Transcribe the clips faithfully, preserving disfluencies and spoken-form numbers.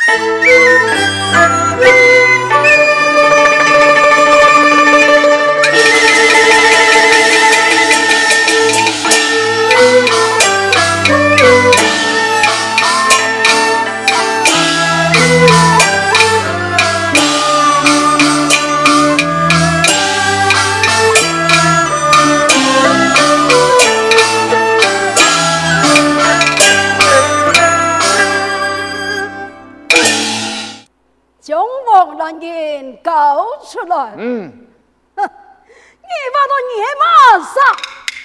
出来， 嗯， 哼，你把他野马杀。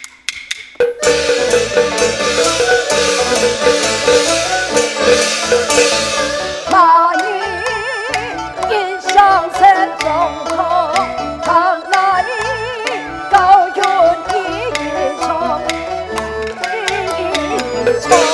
那你一上山中头，看来高原一一场，一一场。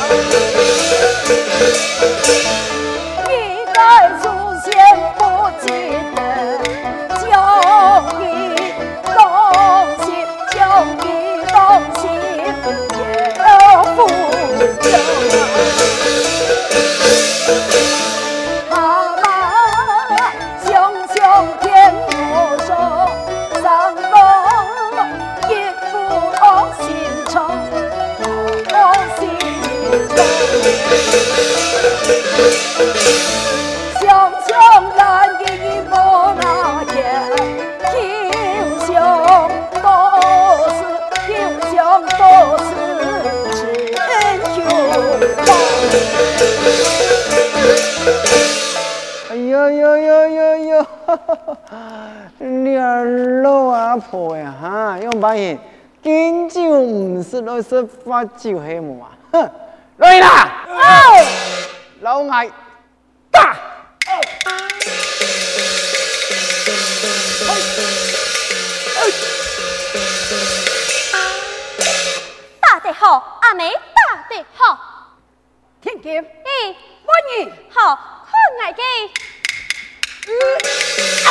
一代祖先不记得，叫你当心，叫你当心，要负责。他妈熊熊天我说，上方一副恶心肠，恶心肠。想想难给你莫那天，英雄都是英雄都是真雄好。 哎呦呦呦呦呦，你儿老阿婆呀哈，用把现敬酒唔是来是发酒黑木啊，哼，来啦！哦，老艾打！ 打得好，阿妹打得好。 天剑， 哎， 我你好，看爱嘅。 嗯啊！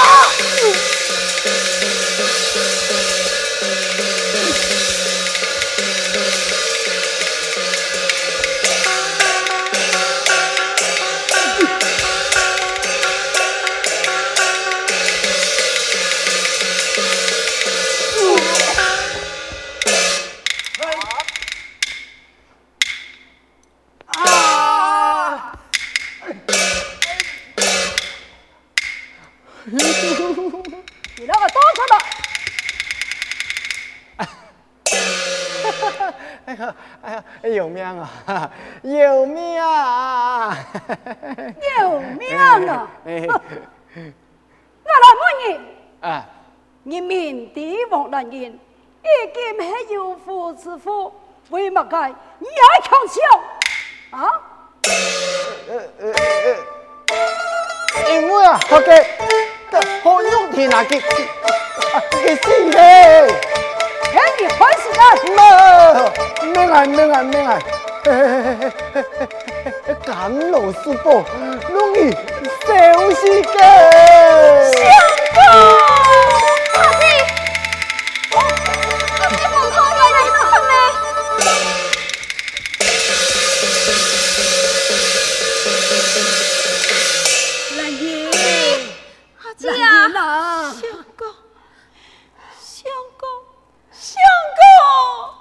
你那个多出来！ 哎呀哎呀，有命啊！有命啊！ 有命啊！ 哎， 我来问你， 啊， 你面对王大人，已經係有夫之婦，為乜解你還強笑？啊？ 呃呃呃，因為啊，我嘅。好用天啊！佢佢死咧！ 睇你開始啦！ 唔，咩啊咩啊咩啊！咁老師傅，容易小事嘅。 相公，阿姐，我阿姐放開我啦，你唔好咩？ 是啊，相公，相公，相公，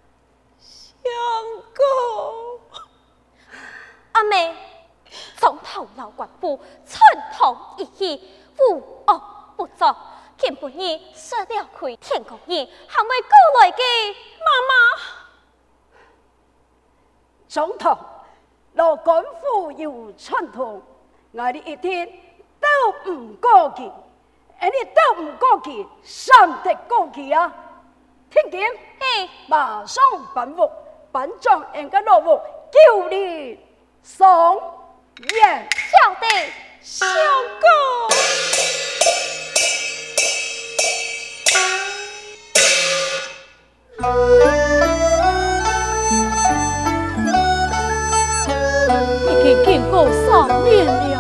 相公， 阿妹，從頭老官府，寸頭一氣，無惡不作，見本兒說了虧天公兒，還未過來嘅媽媽。 總統，老官府有傳統，我哋一天。都唔過去，你都唔過去，上得過去啊！聽見？ 嘿， 馬上奔屋，奔將人家落屋，叫你上爺曉得， 相公。 已經經過三年了。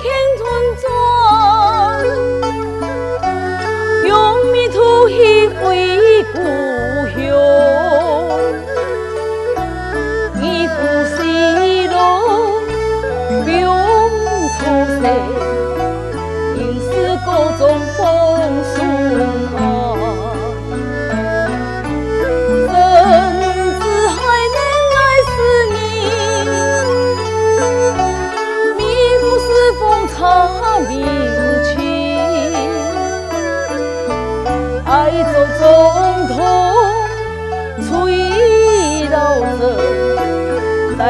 用迷途一回。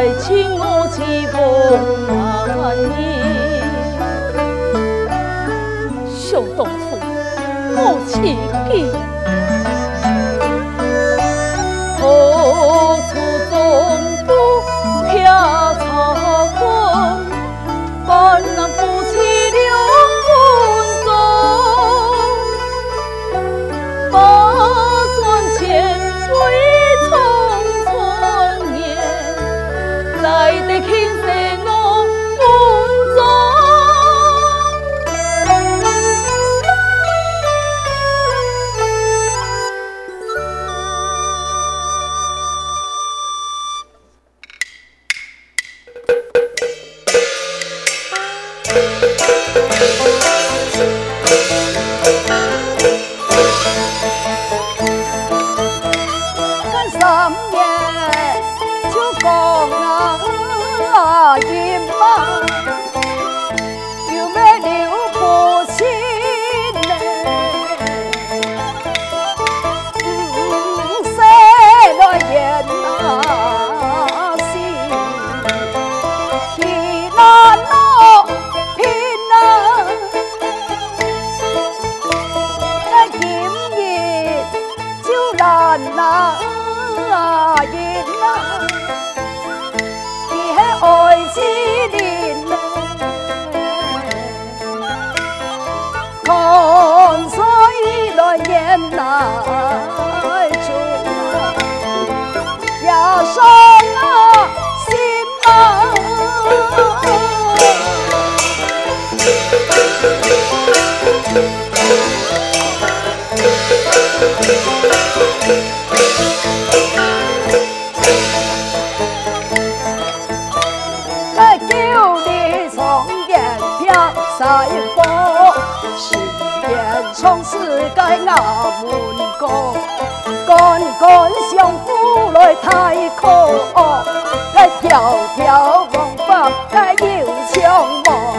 來請我去望阿姨。想當初我自己何處中都撇茶館，萬難夫妻兩分鐘，把賺錢歸匆匆年，來得輕生我門中。從世界衙門過，乾乾相夫來太可，來條條王法來要槍魔。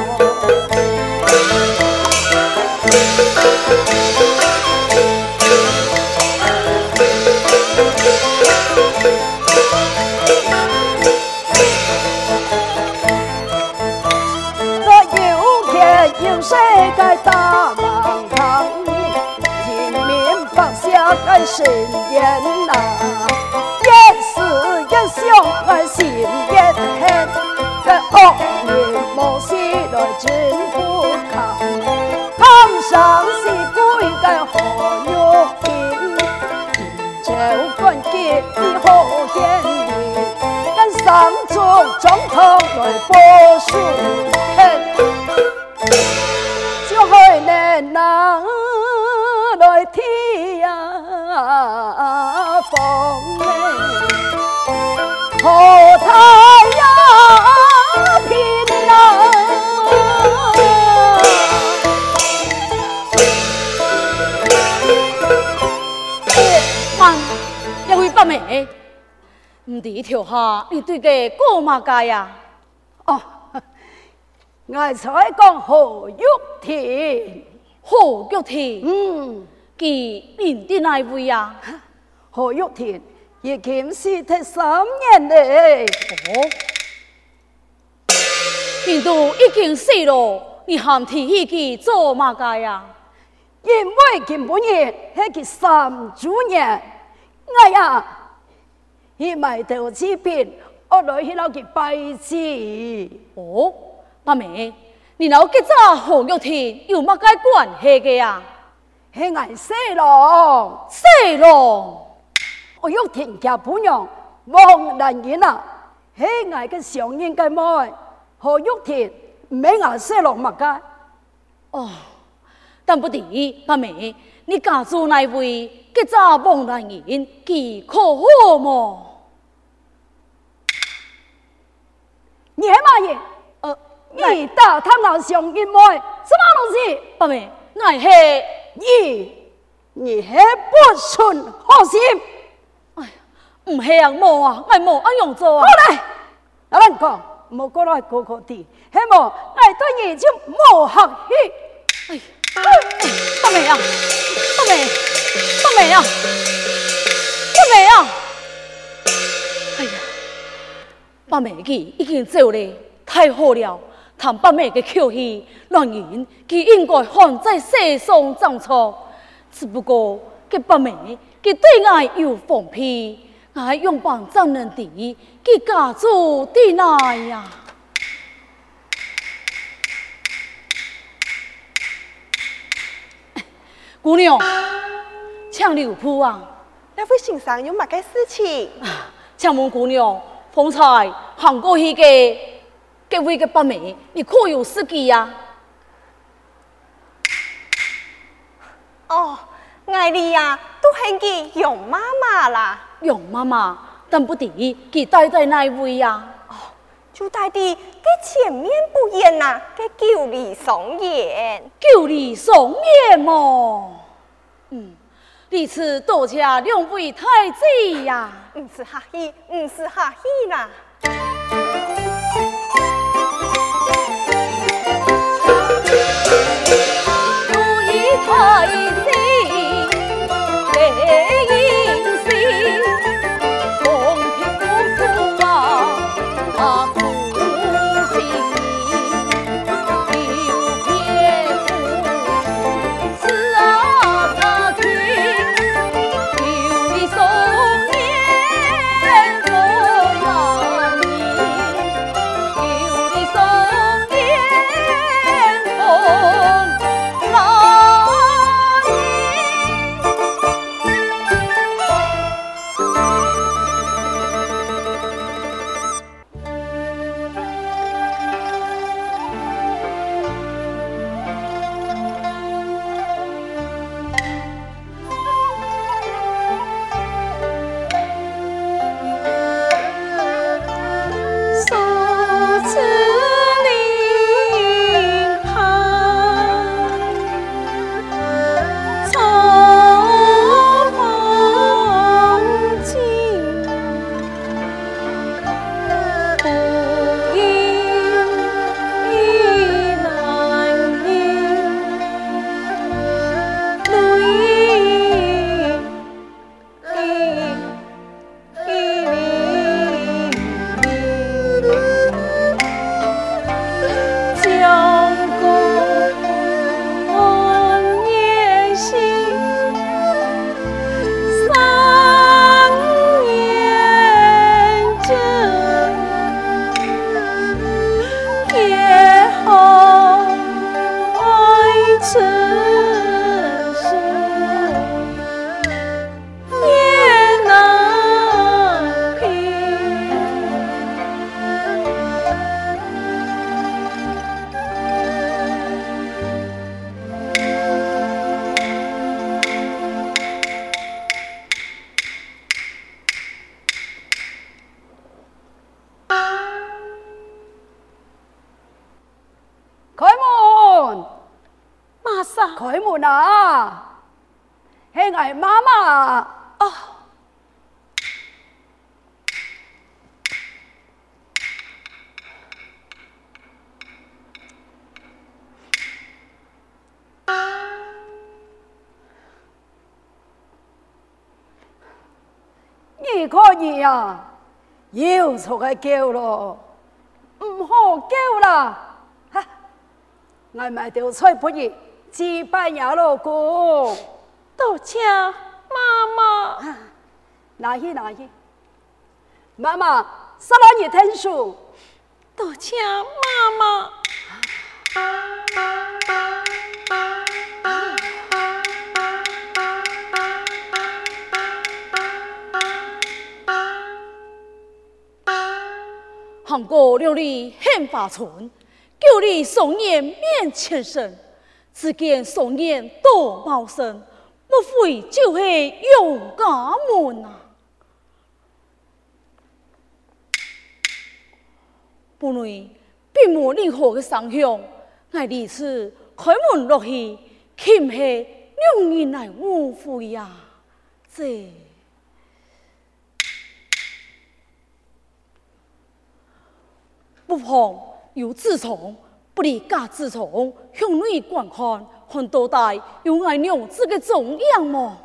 我有錢有世界大忙堂，人民百姓愛神言啊，一時一想愛心一狠，在惡人謀事來真不堪，堂上是歸該何玉平，就關鍵以後見面，跟上中總統來報數恨。就害難拿來天呀風何太呀拼啊！媽，兩位伯妹，唔知條下你對個過嘛界呀？哦。我才講何玉田，何玉田，嗯，佢認得哪位呀？何玉田已經死得三年嘞。哦，人都已經死了，你還提起佢做嘛個呀？因為根本日係佢三周年，哎呀，佢埋頭之邊，我來去撈佢拜祭。哦。伯妹，你老吉早何玉田有乜解關係嘅呀？係捱西郎，西郎，何玉田嘅本樣王蘭言啊，係捱嘅上人嘅妹，何玉田唔係捱西郎乜解？哦，但不敵伯妹，你家住哪位吉早王蘭言，佢可好麼？你係乜嘢？呃。你大他那上一妹，什麼東西？伯妹，我係你，你係不順好心。哎呀，唔係啊，冇啊，我冇安樣做啊。好嚟，阿蘭講，冇過來過過啲，係冇，我對你就冇客氣。哎呀，伯妹啊，伯妹，伯妹啊，伯妹啊，哎呀。 八妹佢已經走了，太好了！談八妹嘅口氣，讓人佢應該看在世上長錯。只不過佢八妹佢對我有放屁，我用幫怎能地佢家族的來呀？姑娘，請留步啊！ 那位先生有乜嘅事情？ 請問姑娘，方才行過去嘅這位嘅八妹，你可有司機呀？ 哦，艾莉呀，都係佢容媽媽啦。 容媽媽，但不知佢帶在哪位呀？ 哦，就帶啲佢前面不遠呐，嘅九里松園。 九里松園麼？嗯。弟子多謝兩位太子呀！ 唔是客氣，唔是客氣啦。 如意太子被應心，公平公主啊，他苦心有別夫，此啊他去。開門啊！係我媽媽哦。你可以啊，要出去叫咯，唔好叫啦！哈，我咪條菜不熱。祭拜呀，老公， 多謝媽媽。 拿去拿去，媽媽，沙拉你聽書。 多謝媽媽。 行過六里杏花村，九里松園面前生。只見松園多茂盛，莫非就是永嘉門啊？不內並無任何的傷響，我第次開門落去，豈係兩人來誤會呀？這不妨有自從。不離家自從向內觀看，看到底有愛娘子嘅重樣麼？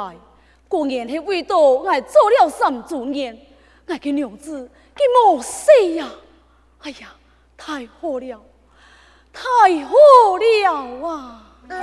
來，果然是為到我做了三主年，我嘅娘子佢冇死呀！哎呀，太好了，太好了啊！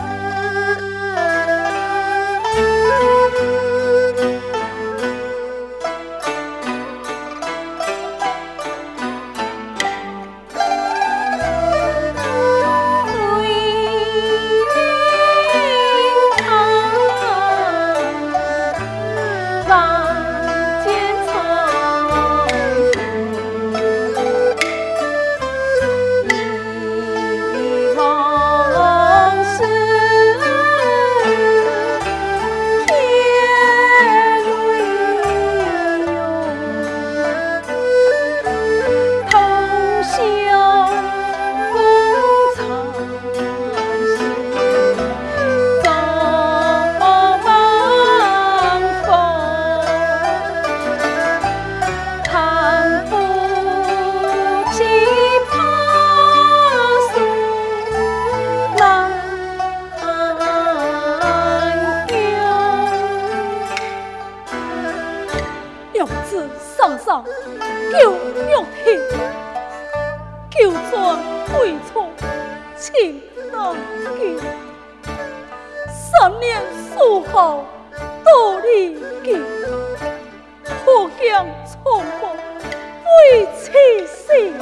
救玉婷，救轉歸錯，情難結。三年書後到離結，可將重逢為妻死。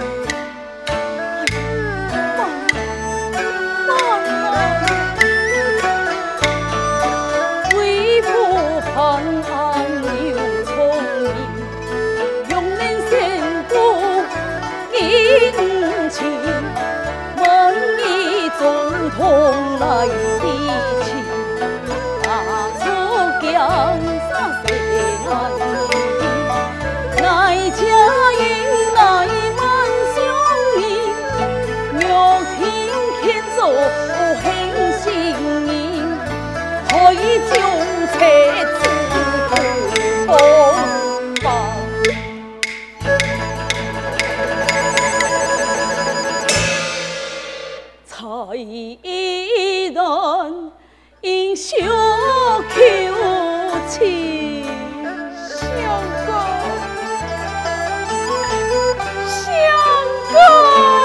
同來的情，大楚江山誰來替？乃家應乃萬相依，玉婷牽着興心意，可以將車子同吧。才然應小求情，相公，相公。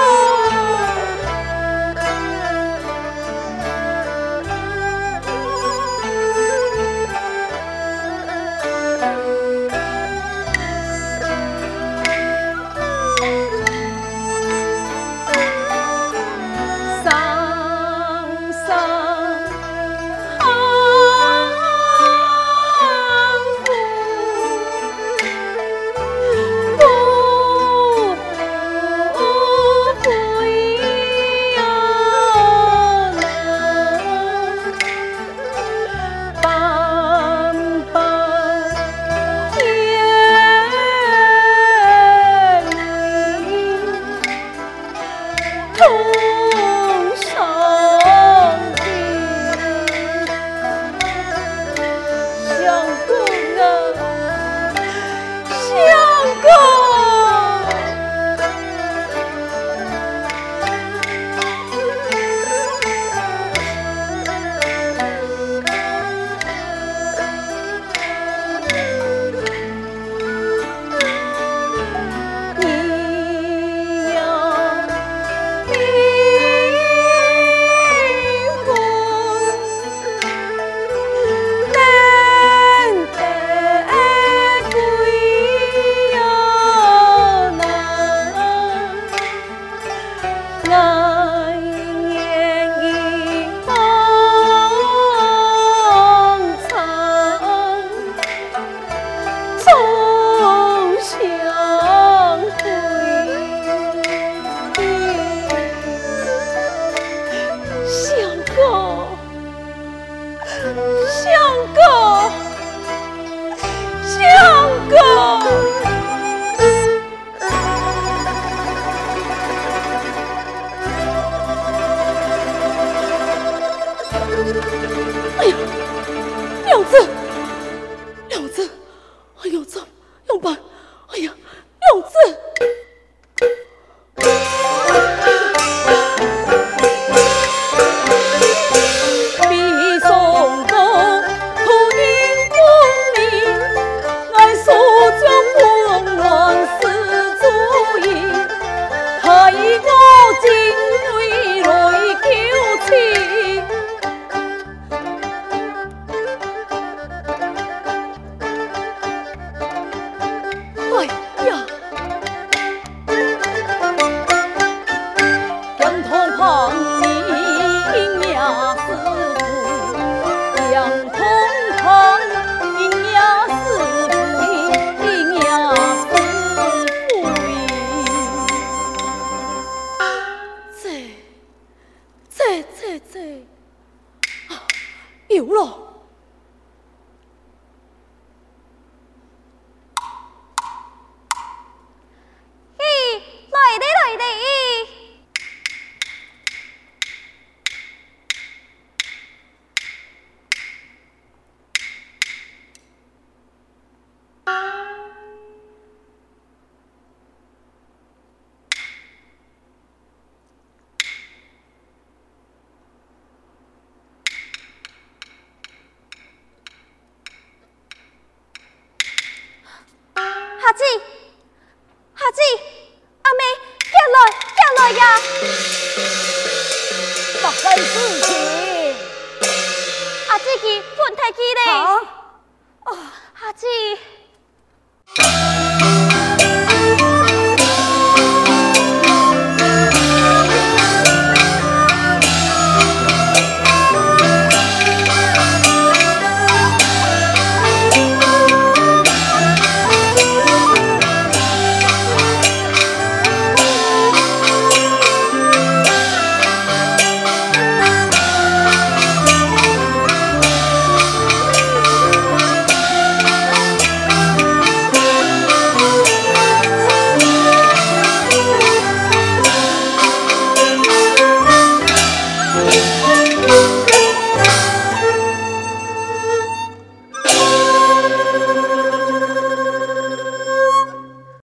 夏姊，夏姊，阿妹，叫來，叫來呀！ 發生事情， 阿姊佢瞓太機咧。 啊！ 夏姊。